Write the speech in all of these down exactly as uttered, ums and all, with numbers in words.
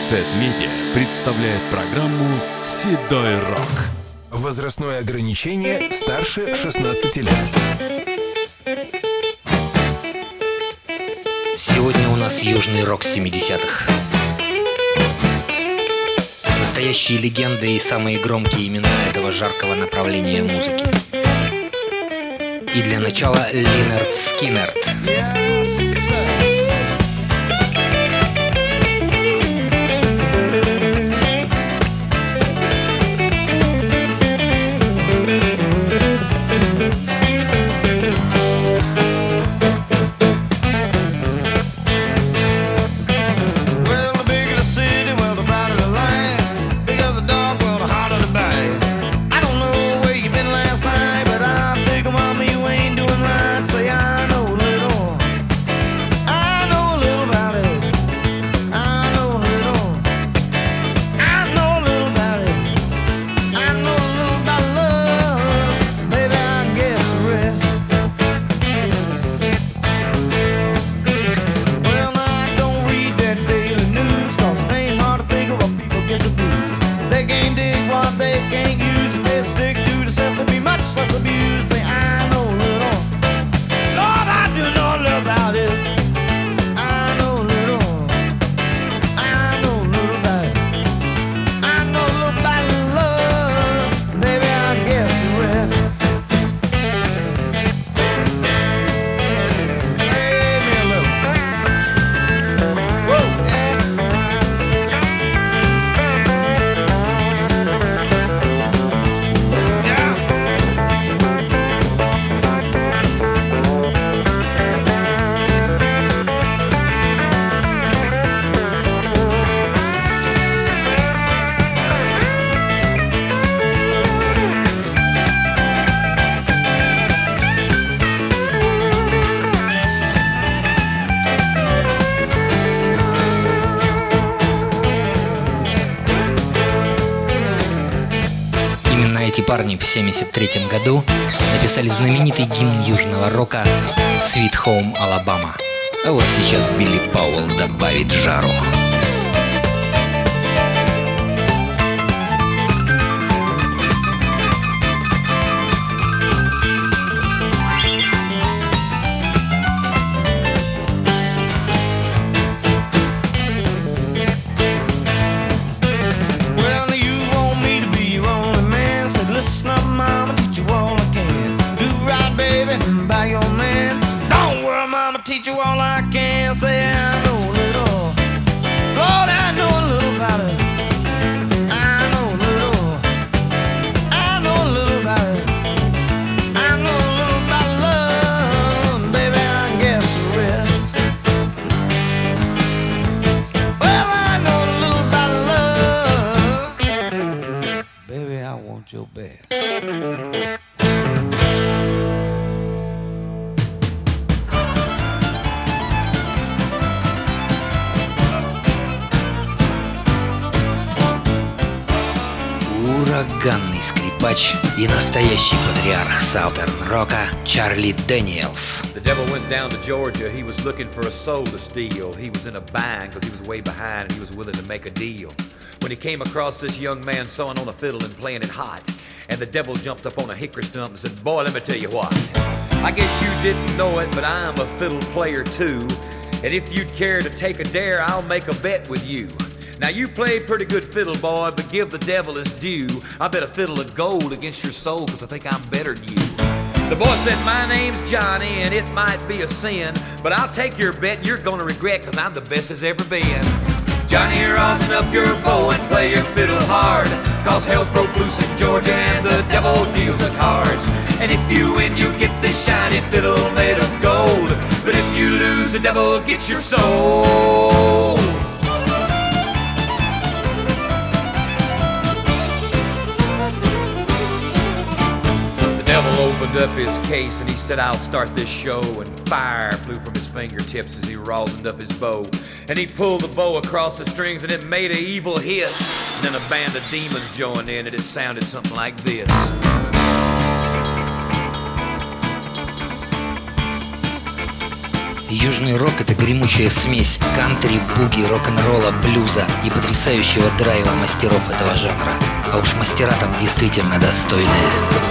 Сет Медиа представляет программу «Седой рок». Возрастное ограничение старше шестнадцати лет. Сегодня у нас южный рок семидесятых. Настоящие легенды и самые громкие имена этого жаркого направления музыки. И для начала Линард Скиннерд. Less abuse, say I know a little. Lord, I do know a little about it. I know a little. I know a little about it. I know a little about love. Baby, I guess the rest. Play me a little. Whoa. Эти парни в семьдесят третьем году написали знаменитый гимн южного рока «Sweet Home Alabama». А вот сейчас Билли Пауэлл добавит жару. Listen up, mama, teach you all I can. Do right, baby, by your man. Don't worry, mama, teach you all I can. Say I know a little. Lord, I know a little about it. I know a little. I know a little about it. I know a little about love. Baby, I guess the rest. Well, I know a little about love. Baby, I want your best. Ураганный скрипач и настоящий патриарх саутерн-рока Чарли Дэниелс. The devil went down to Georgia, he was looking for a soul to steal. He was in a bind because he was way behind and he was willing to make a deal. When he came across this young man sewing on a fiddle and playing it hot, and the devil jumped up on a hickory stump and said, boy, let me tell you what. I guess you didn't know it, but I'm a fiddle player too. And if you'd care to take a dare, I'll make a bet with you. Now you play pretty good fiddle, boy, but give the devil his due. I bet a fiddle of gold against your soul, cause I think I'm better than you. The boy said, my name's Johnny, and it might be a sin, but I'll take your bet and you're gonna regret, cause I'm the best as ever been. Johnny, rosin up your bow and play your fiddle hard, cause hell's broke loose in Georgia and the devil deals the cards. And if you win, you get this shiny fiddle made of gold, but if you lose, the devil gets your soul. The devil opened up his case and he said, I'll start this show, and fire flew from his fingertips as he rosined up his bow. And he pulled the bow across the strings and it made an evil hiss. And then a band of demons joined in and it sounded something like this. Южный рок — это гремучая смесь кантри, буги, рок-н-ролла, блюза и потрясающего драйва мастеров этого жанра. А уж мастера там действительно достойные.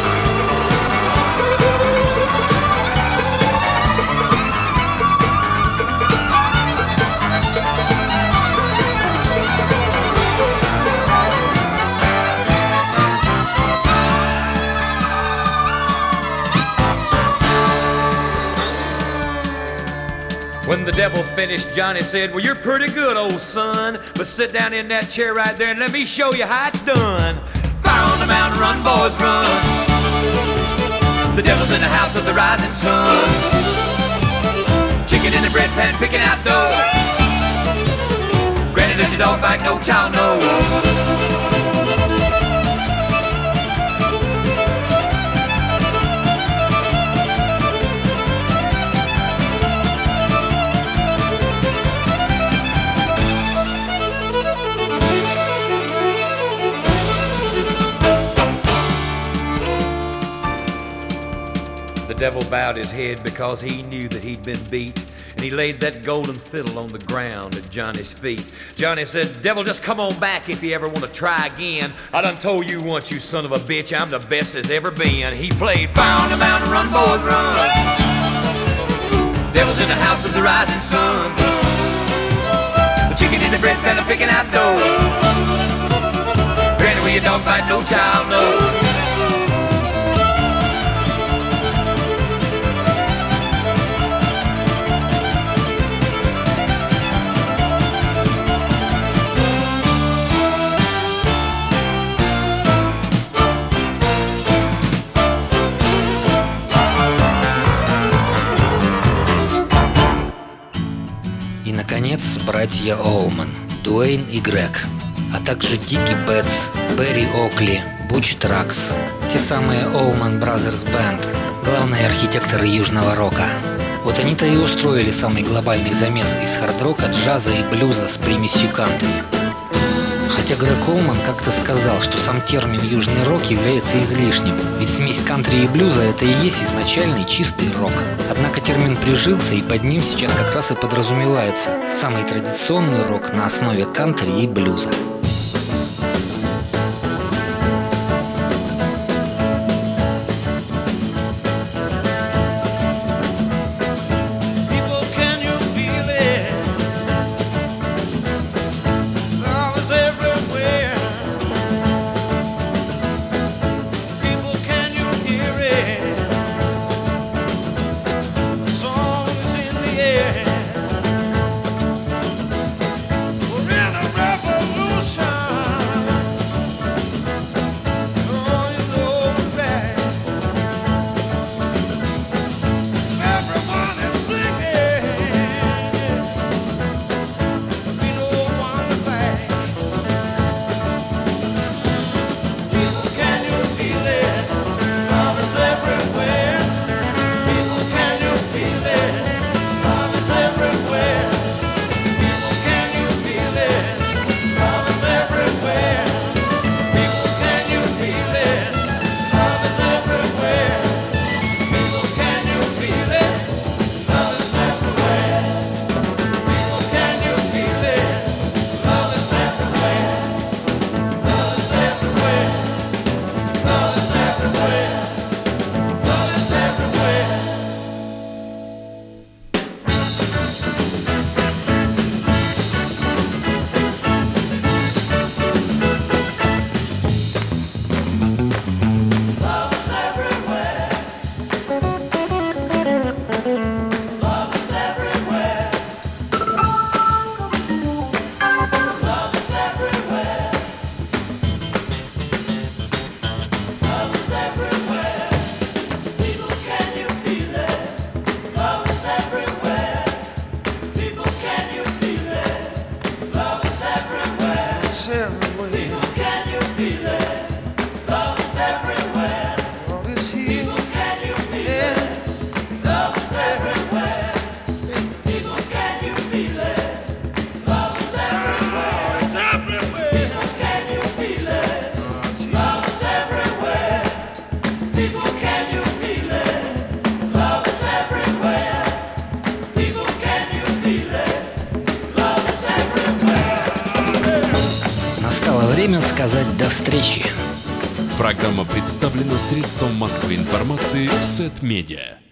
When the devil finished, Johnny said, well, you're pretty good, old son, but sit down in that chair right there and let me show you how it's done. Fire on the mountain, run, boys, run. The devil's in the house of the rising sun. Chicken in the bread pan, picking out dough. Granny, does your dog bite? No child knows. The devil bowed his head because he knew that he'd been beat, and he laid that golden fiddle on the ground at Johnny's feet. Johnny said, devil, just come on back if you ever want to try again. I done told you once, you son of a bitch, I'm the best there's ever been. He played fire on the mountain, run, boys, run. Devil's in the house of the rising sun. The chicken in the bread pan, picking out dough. Granny, where your dog bite, no child knows. И, наконец, братья Олман, Дуэйн и Грег, а также Дики Бетс, Берри Окли, Буч Тракс, те самые Allman Brothers Band, главные архитекторы южного рока. Вот они-то и устроили самый глобальный замес из хард-рока, джаза и блюза с примесью кантри. Хотя Грег Олман как-то сказал, что сам термин «южный рок» является излишним, ведь смесь кантри и блюза — это и есть изначальный чистый рок. Однако термин прижился, и под ним сейчас как раз и подразумевается самый традиционный рок на основе кантри и блюза. We're in a revolution. Время сказать до встречи. Программа представлена средством массовой информации Сет Медиа.